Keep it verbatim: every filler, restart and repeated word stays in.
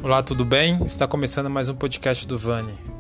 Olá, tudo bem? Está começando mais um podcast do Vani.